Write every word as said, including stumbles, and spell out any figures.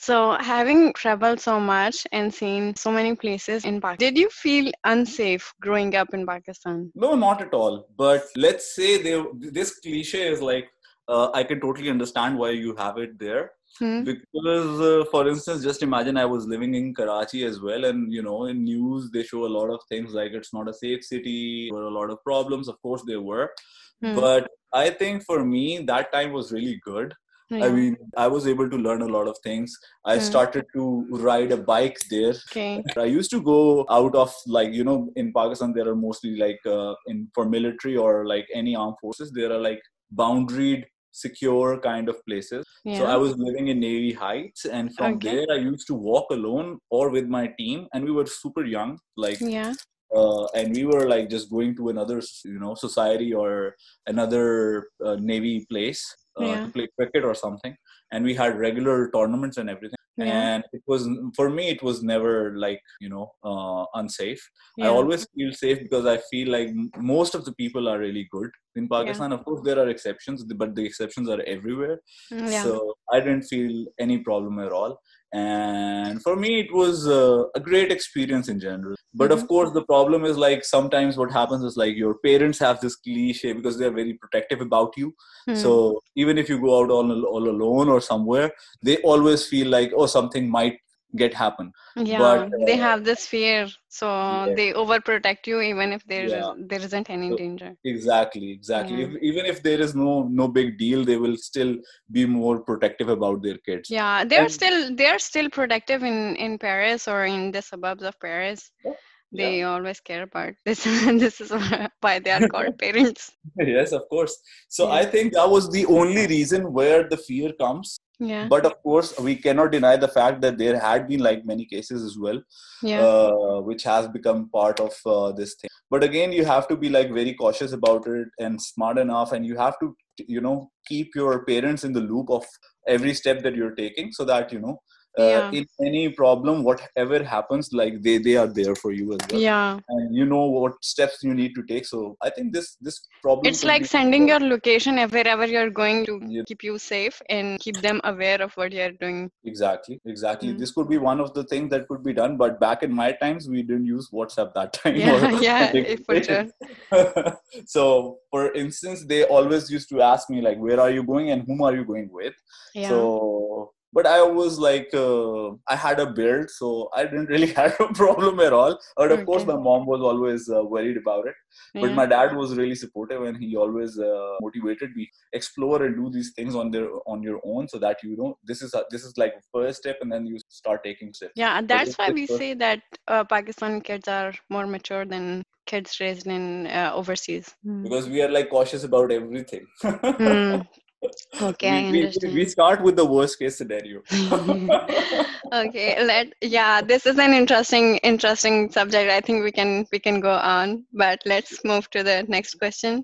So, having traveled so much and seen so many places in Pakistan, did you feel unsafe growing up in Pakistan? No, not at all. But let's say they, this cliche is like, uh, I can totally understand why you have it there. Hmm? Because, uh, for instance, just imagine I was living in Karachi as well, and you know, in news they show a lot of things like it's not a safe city, there were a lot of problems. Of course, there were, Hmm. but I think for me that time was really good. I Yeah. mean, I was able to learn a lot of things. I Hmm. started to ride a bike there. Okay. I used to go out of, like, you know, in Pakistan there are mostly like uh, in for military or like any armed forces there are like boundaried secure kind of places. So I Yeah. was living in Navy Heights, and from Okay. there I used to walk alone or with my team, and we were super young, like, Yeah. uh, and we were like just going to another, you know, society or another uh, Navy place uh, Yeah. to play cricket or something, and we had regular tournaments and everything. Yeah. And it was, for me it was never like, you know, uh, unsafe. I Yeah. always feel safe because I feel like m- most of the people are really good in Yeah. Pakistan. Of course there are exceptions, but the exceptions are everywhere. Mm, yeah. So I didn't feel any problem at all, and for me it was uh, a great experience in general. But Mm-hmm. of course the problem is like sometimes what happens is like your parents have this cliche because they're very protective about you. Hmm. So even if you go out all, all alone or somewhere, they always feel like, oh, something might get happen. But Yeah, they uh, have this fear, so yeah, they overprotect you even if there is yeah. there isn't any So danger. exactly, exactly. Yeah. If, even if there is no no big deal, they will still be more protective about their kids. Yeah, they're And still they're still protective in in Paris or in the suburbs of Paris. yeah. They always care about this. This is why they are called parents. Yes, of course. So Yeah. I think that was the only reason where the fear comes. Yeah. But of course, we cannot deny the fact that there had been like many cases as well, Yeah. uh, which has become part of uh, this thing. But again, you have to be like very cautious about it and smart enough, and you have to, you know, keep your parents in the loop of every step that you're taking, so that you know, uh, Yeah. in any problem, whatever happens, like they they are there for you as well, Yeah. and you know what steps you need to take. So I think this this problem It's could like be sending your location ev- wherever you're going to yeah, keep you safe and keep them aware of what you're doing. exactly, exactly. Mm. This could be one of the things that could be done. But back in my times, we didn't use WhatsApp that time or Yeah, yeah, something eh, for like sure. this. So, for instance, they always used to ask me like, "Where are you going and whom are you going with?" Yeah. So, but I was like, uh, I had a beard, so I didn't really have a problem at all. But of course, Okay. my mom was always uh, worried about it. But Yeah. my dad was really supportive, and he always uh, motivated me explore and do these things on their on your own, so that you know this is a, this is like first step, and then you start taking steps. Yeah, But that's it's why just we first, say that uh, Pakistan kids are more mature than kids raised in uh, overseas. Hmm. because we are like cautious about everything. Hmm. Okay, I we, we we understand. start with the worst case scenario. Okay, let yeah, this is an interesting interesting subject. I think we can we can go on, but let's move to the next question.